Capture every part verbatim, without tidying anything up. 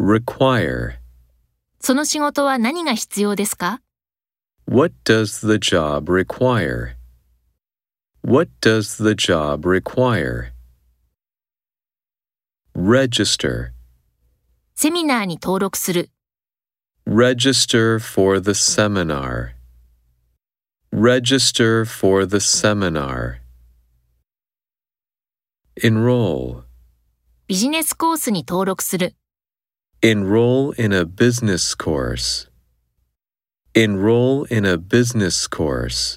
require. その仕事は何が必要ですか？ What does the job require? What does the job require? Register. セミナーに登録する。 Register for the seminar. Register for the seminar. Enroll. ビジネスコースに登録する。 Enroll in a business course. Enroll in a business course.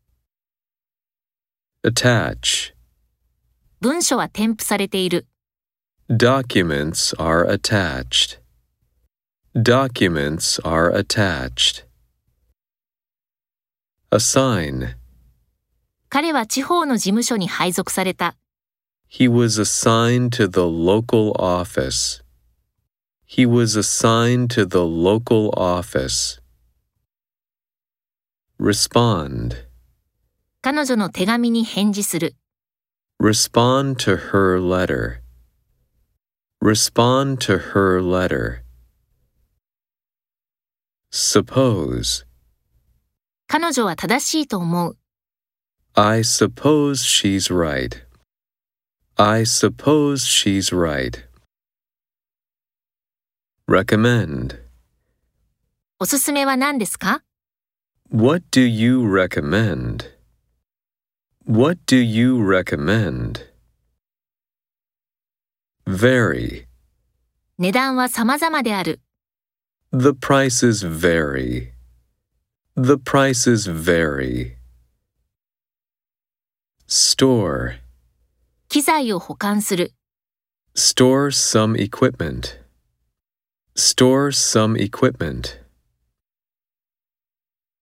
Attach. 文書は添付されている。 Documents are attached. Documents are attached. Assign. 彼は地方の事務所に配属された。 He was assigned to the local office. He was assigned to the local office. Respond. 彼女の手紙に返事する。 Respond to her letter. Respond to her letter. Suppose. 彼女は正しいと思う。 I suppose she's right. I suppose she's right. Recommend. おすすめは何ですか？ What do you recommend? What do you recommend? Vary. 値段は様々である。 The prices vary. The prices vary. Store. 機材を保管する。 Store some equipment. Store some equipment.